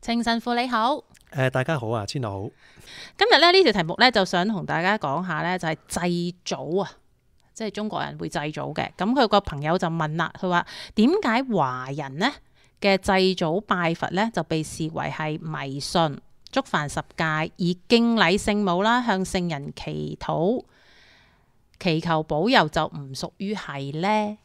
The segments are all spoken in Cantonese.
程神父你好， 大家好啊，千樂好。 今日咧呢條題目咧就想同大家講下咧，就係祭祖啊，即係中國人會祭祖嘅。咁佢個朋友就問啦，佢話點解華人呢嘅祭祖拜佛咧就被視為係迷信，觸犯十戒，而敬禮聖母啦，向聖人祈禱，祈求保佑就唔屬於係呢？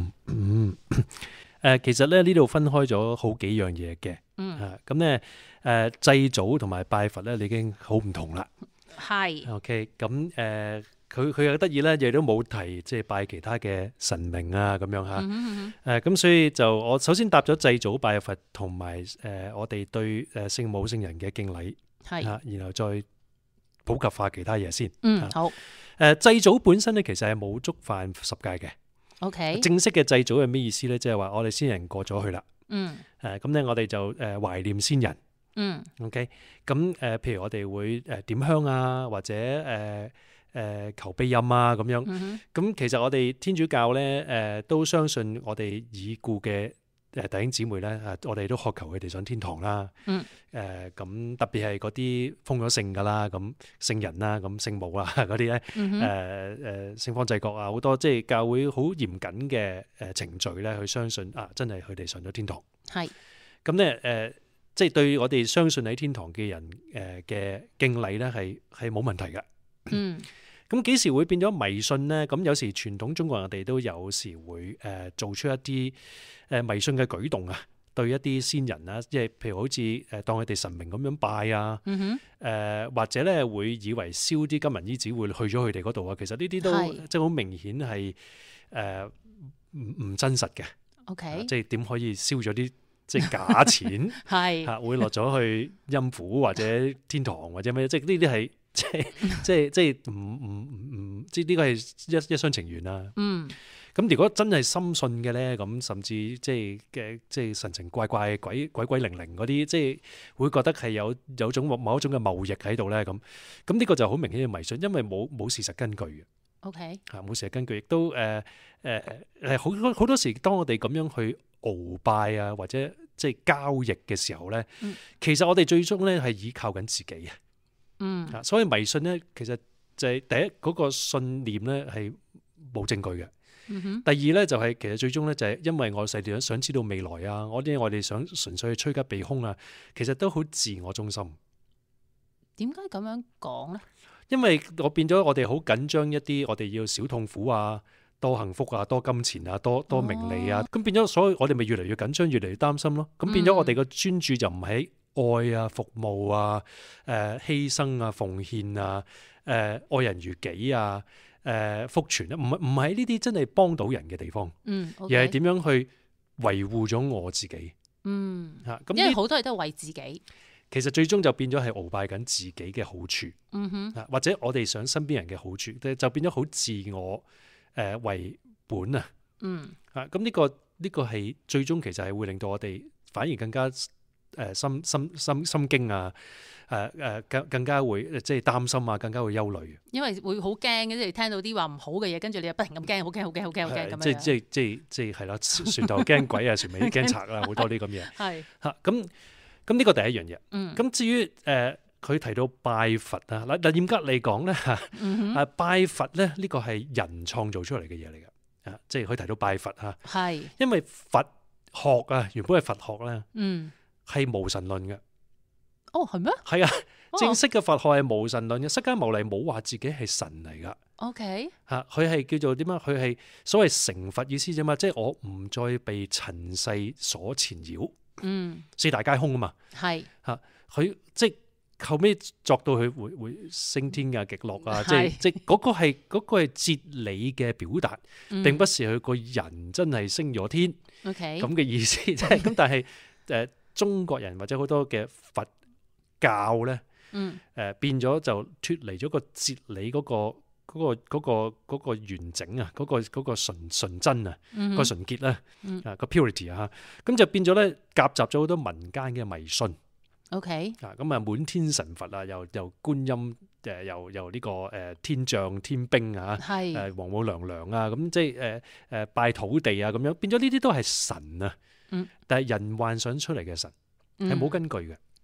其實咧呢度分開咗好幾樣嘢嘅。咁咧祭祖同埋拜佛咧，你已經好唔同啦。 係。 OK，咁佢又得意咧，亦都冇提即係拜其他嘅神明啊咁樣嚇。咁所以就我首先答咗祭祖拜佛同埋我哋對聖母聖人嘅敬禮， 係。 然後再普及化其他嘢先。 好。 祭祖本身咧其實係冇觸犯十戒嘅。 OK。 正式嘅祭祖係咩意思咧？即係話我哋先人過咗去啦。咁咧我哋就懷念先人。OK，咁譬如我哋會點香啊，或者求庇蔭啊咁樣。咁其實我哋天主教咧都相信我哋已故嘅弟兄姊妹咧，我哋都渴求佢哋上天堂啦。咁特別係嗰啲封咗聖噶啦，咁聖人啦，咁聖母啊嗰啲咧，聖方濟各啊，好多即係教會好嚴謹嘅程序咧，去相信真係佢哋上咗天堂。係。咁咧即係對我哋相信喺天堂嘅人嘅敬禮咧，係冇問題嘅。咁幾時會變咗迷信咧？咁有時傳統中國人哋都有時會做出一啲迷信嘅舉動啊，對一啲先人啊，即係譬如好似當佢哋神明咁樣拜啊，或者咧會以為燒啲金銀衣紙會去咗佢哋嗰度啊。其實呢啲都即係好明顯係唔真實嘅。 OK， 即係點可以燒咗啲即係假錢係嚇會落咗去陰府或者天堂或者咩？即係呢啲係即係唔即係呢個係一廂情願啦。咁如果真係深信嘅咧，咁甚至即係神神怪怪、鬼靈靈嗰啲，即係會覺得係有種某一種嘅謬易喺度咧。咁呢個就好明顯嘅迷信，因為冇事實根據嘅。OK， 冇事實根據，亦都好多時，當我哋咁樣去鰲拜啊，或者即係交易嘅時候咧，其實我哋最終咧係依靠緊自己嘅。所以迷信咧，其實就係第一嗰個信念咧係冇證據嘅。第二咧就係其實最終咧就係因為我細哋想知道未來啊，我哋想純粹去趨吉避凶啊，其實都好自我中心。 點解咁樣講咧？ 因為我變咗我哋好緊張一啲，我哋要少痛苦啊，多幸福啊，多金錢啊，多名利啊，咁變咗，所以我哋咪越嚟越緊張，越嚟越擔心咯。咁變咗我哋個專注就唔喺愛啊、服務啊、犧牲啊、奉獻啊、愛人如己啊、福傳啊，唔係呢啲真係幫到人嘅地方，而係點樣去維護咗我自己。咁因為好多嘢都係為自己。 其實最終就變咗係鰲拜緊自己嘅好處，或者我哋想身邊人嘅好處，就變咗好自我為本啊。咁呢個係最終其實係會令到我哋反而更加心驚啊，更加會即係擔心啊，更加會憂慮。因為會好驚嘅，即係聽到啲話唔好嘅嘢，跟住你又不停咁驚，好驚咁樣。即係係啦，船頭驚鬼啊，船尾驚賊啊，好多呢咁嘢。係嚇咁呢個第一樣嘢。咁至於佢提到拜佛啊，嗱嚴格嚟講咧拜佛咧呢個係人創造出嚟嘅嘢嚟嘅。即係佢提到拜佛啊，係因為佛學啊原本係佛學咧，係無神論嘅。哦，係咩？係啊，正式嘅佛學係無神論嘅。釋迦牟尼冇話自己係神嚟噶。OK， 佢係叫做點樣？佢係所謂成佛意思啫嘛，即係我唔再被塵世所纏繞。四大皆空啊嘛。係佢即係後尾作到佢會升天啊、極樂啊，即係嗰個係哲理嘅表達，並不是佢個人真係升咗天。OK， 咁嘅意思即係咁，但係中國人或者好多嘅佛教咧，變咗就脫離咗個哲理嗰個完整啊，嗰個純真啊，個純潔啦，個 purity 啊，咁就變咗咧夾雜咗好多民間嘅迷信。OK， 咁啊滿天神佛啊，又觀音又呢個天象天兵啊，王母娘娘啊，咁即係拜土地啊，咁樣變咗呢啲都係神啊，但係人幻想出嚟嘅神係冇根據嘅。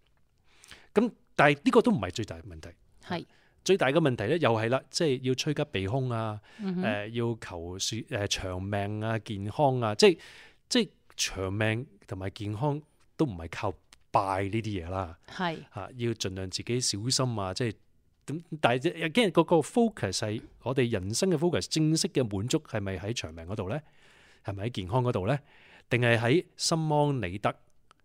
咁但係呢個都唔係最大嘅問題。 係最大嘅問題咧，又係啦，即係要趨吉避凶啊，要求長命啊、健康啊，即係長命同埋健康都唔係靠拜呢啲嘢啦。 係要盡量自己小心啊，即係咁。但係又驚嗰個 focus 係我哋人生嘅 focus，正式嘅滿足係咪喺長命嗰度咧？係咪喺健康嗰度咧？定係喺心安理得？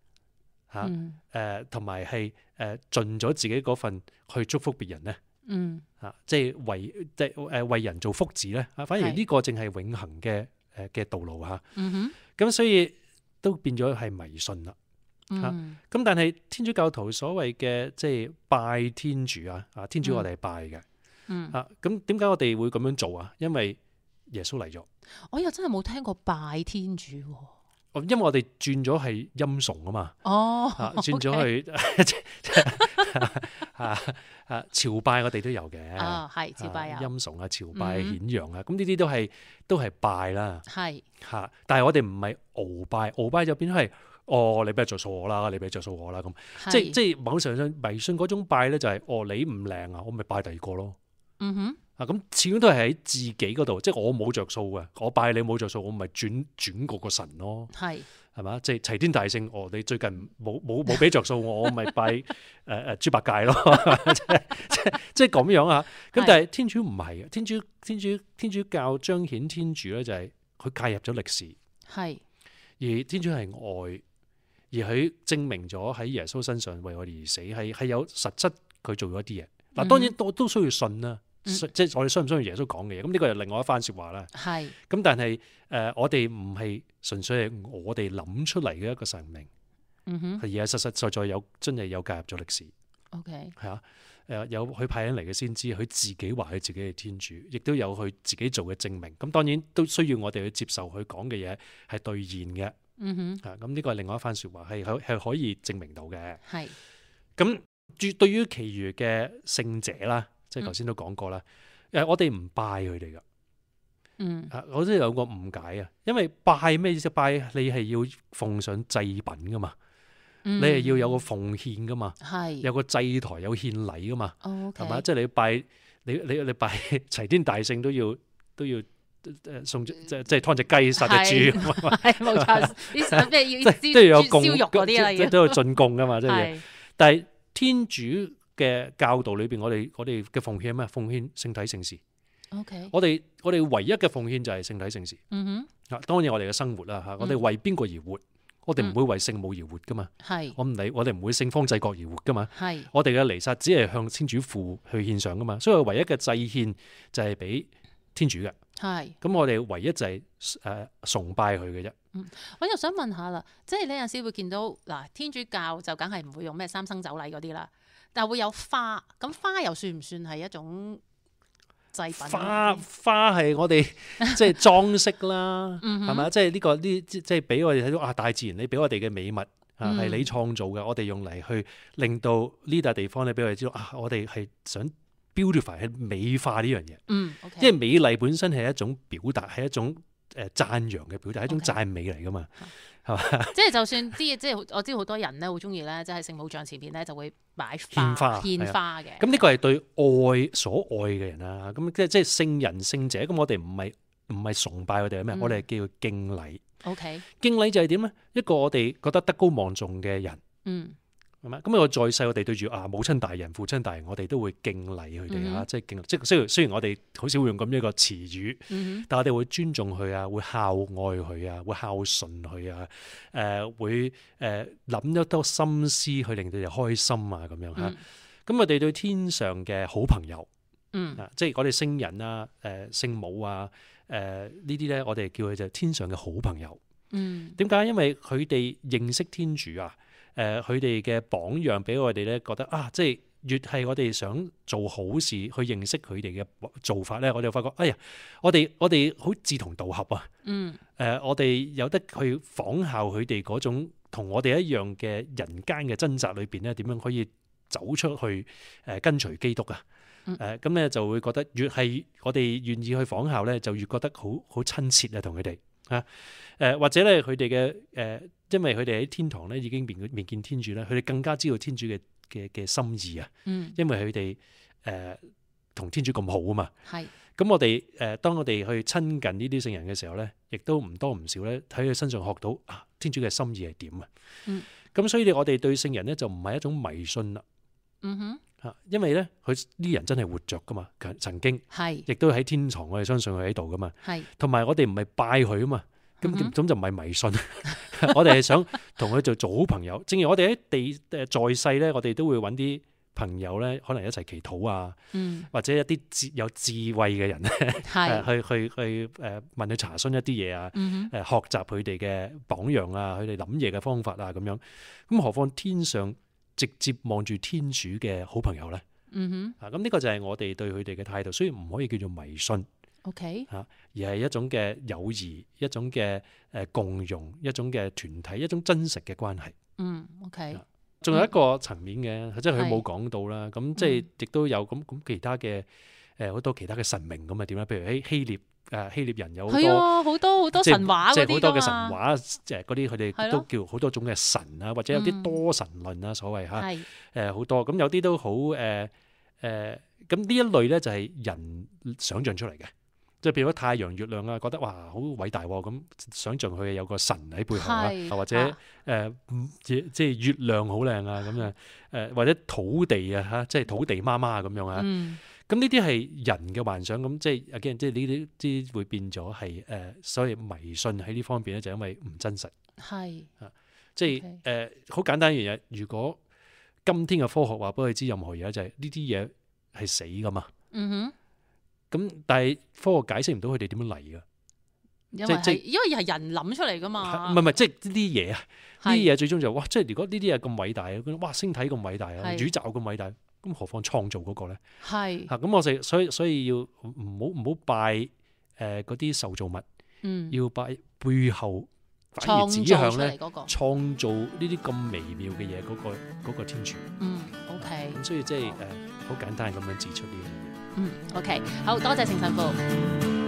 同埋係盡咗自己嗰份去祝福別人咧？即係為人做福祉咧？反而呢個正係永恆嘅道路嚇。咁所以都變咗係迷信啦。咁但係天主教徒所謂嘅即係拜天主啊，天主我哋係拜嘅。咁點解我哋會咁樣做啊？因為耶穌嚟咗。 我又真係冇聽過拜天主喎。 因為我哋轉咗係欽崇啊嘛，轉咗去朝拜，我哋都有嘅， 係朝拜有欽崇啊、朝拜、顯揚啊，咁呢啲都係拜啦， 係但係我哋唔係鰲拜，鰲拜就變咗係你俾着數我啦，你俾着數我啦咁，即係網上迷信嗰種拜咧就係你唔靚啊，我咪拜第二個咯。咁始終都係喺自己嗰度，即係我冇着數嘅，我拜你冇着數，我咪轉過個神咯，係嘛？即係齊天大聖，你最近冇俾着數我咪拜豬八戒咯，即係咁樣啊！咁但係天主唔係嘅，天主教彰顯天主咧就係佢介入咗歷史，係而天主係愛，而佢證明咗喺耶穌身上為我哋而死，係有實質佢做咗一啲嘢。嗱，當然都需要信啦。即係我哋相唔相信耶穌講嘅嘢，咁呢個係另外一番說話啦。係咁，但係我哋唔係純粹係我哋諗出嚟嘅一個神明，而係實實在在真係有介入咗歷史。OK， 係啊，有佢派人嚟嘅先知，佢自己話佢自己係天主，亦都有佢自己做嘅證明。咁當然都需要我哋去接受佢講嘅嘢係兌現嘅。咁呢個係另外一番說話，係可以證明到嘅。係咁，對於其餘嘅聖者啦。即係頭先都講過啦，我哋唔拜佢哋噶，我都有個誤解啊，因為拜咩意思？拜你係要奉上祭品噶嘛，你係要有個奉獻噶嘛，有個祭台有獻禮噶嘛，係嘛？即係你拜你拜齊天大聖都要送即係劏隻雞殺隻豬，係冇錯，啲咩要有燒肉嗰啲啦，都要進貢噶嘛，即係。但係天主嘅教導裏邊，我哋嘅奉獻係咩？奉獻聖體聖事。OK， 我哋唯一嘅奉獻就係聖體聖事。當然我哋嘅生活啦，我哋為邊個而活？我哋唔會為聖母而活噶嘛。係，我哋唔會聖方濟各而活噶嘛。係，我哋嘅彌撒只係向天主父去獻上噶嘛。所以唯一嘅祭獻就係俾天主嘅。係，咁我哋唯一就係崇拜佢嘅啫。 我又想問下啦，即係你有陣時會見到嗱，天主教就梗係唔會用咩三牲酒禮嗰啲啦。但係會有花，咁花又算唔算係一種祭品？花係我哋即係裝飾啦，係咪？即係呢個即係俾我哋睇到大自然你俾我哋嘅美物係你創造嘅，我哋用嚟去令到呢笪地方咧俾我哋知道我哋係想 beautify 係美化呢樣嘢。因為美麗本身係一種表達，係一種讚揚嘅表達，係一種讚美嚟噶嘛。係嘛？即係就算即係我知好多人咧好中意咧，即係聖母像前邊咧就會擺花獻花嘅。咁呢個係對愛所愛嘅人啦。咁即係聖人聖者。咁我哋唔係崇拜佢哋係咩？我哋係叫佢敬禮。OK， 敬禮就係點咧？一個我哋覺得德高望重嘅人。係咪？咁我在世我哋對住母親大人、父親大人，我哋都會敬禮佢哋即係敬，即係雖然我哋好少會用咁一個詞語，但係我哋會尊重佢啊，會孝愛佢啊，會孝順佢啊，會諗得多心思去令到佢哋開心啊咁樣嚇。咁我哋對天上嘅好朋友，即係我哋聖人啊、聖母啊、呢啲咧，我哋叫佢就天上嘅好朋友。點解？因為佢哋認識天主啊。佢哋嘅榜樣俾我哋咧覺得即係越係我哋想做好事去認識佢哋嘅做法咧，我哋就發覺我哋好志同道合啊！我哋有得去仿效佢哋嗰種同我哋一樣嘅人間嘅掙扎裏邊咧，點樣可以走出去跟隨基督啊！咁咧就會覺得越係我哋願意去仿效咧，就越覺得好親切啊，同佢哋或者咧佢哋嘅因為佢哋喺天堂咧已經面見天主咧，佢哋更加知道天主嘅嘅心意啊。 嗯， 因為佢哋同天主咁好啊嘛。 係。 咁我哋當我哋去親近呢啲聖人嘅時候咧，亦都唔多唔少咧喺佢身上學到啊天主嘅心意係點啊。 嗯。 咁所以我哋對聖人咧就唔係一種迷信啦。 嗯哼。 嚇，因為咧佢啲人真係活着噶嘛，曾經係。 亦都喺天堂，我哋相信佢喺度噶嘛。 係。 同埋我哋唔係拜佢啊嘛，咁嗯哼就唔係迷信。我哋係想同佢做好朋友。正如我哋喺在世咧，我哋都會揾啲朋友咧，可能一齊祈禱啊， 嗯， 或者一啲有智慧嘅人咧， 係。 去問佢查詢一啲嘢啊， 嗯哼。 學習佢哋嘅榜樣啊，佢哋諗嘢嘅方法啊咁樣。咁何況天上直接望住天主嘅好朋友咧？ 嗯哼。 咁呢個就係我哋對佢哋嘅態度，雖然唔可以叫做迷信。 OK。 而係一種嘅友誼，一種嘅共融，一種嘅團體，一種真實嘅關係。 嗯 OK。 仲有一個層面嘅，即係佢冇講到啦。咁即係亦都有咁其他嘅好多其他嘅神明咁啊點咧？譬如喺希臘人有好多好多神話嗰啲即係好多嘅神話，嗰啲佢哋都係咯叫好多種嘅神啊，或者有啲多神論啊，所謂嚇係。 好多。咁有啲都好咁呢一類咧就係人想像出嚟嘅。即係譬如太陽、月亮啊，覺得哇好偉大喎，咁想像佢有個神喺背後啊，或者即係月亮好靚啊咁啊，或者土地啊嚇，即係土地媽媽咁樣啊。咁呢啲係人嘅幻想，咁即係again，即係呢啲會變咗係所謂迷信喺呢方面咧，就因為唔真實。 係。 即係好簡單一樣嘢，如果今天嘅科學話俾佢知任何嘢，就係呢啲嘢係死噶嘛。 嗯哼。 咁但係科學解釋唔到佢哋點樣嚟㗎， 因為係人諗出嚟㗎嘛。 唔係即係呢啲嘢啊，呢啲嘢最終就哇，即係如果呢啲嘢咁偉大啊，哇星體咁偉大啊，宇宙咁偉大，咁何況創造嗰個咧？係嚇，咁我哋所以要唔好拜嗰啲受造物，要拜背後反而指向咧創造呢啲咁微妙嘅嘢嗰個天主。 OK。 咁所以即係好簡單咁樣指出呢樣嘢。 OK，好多謝聖神父。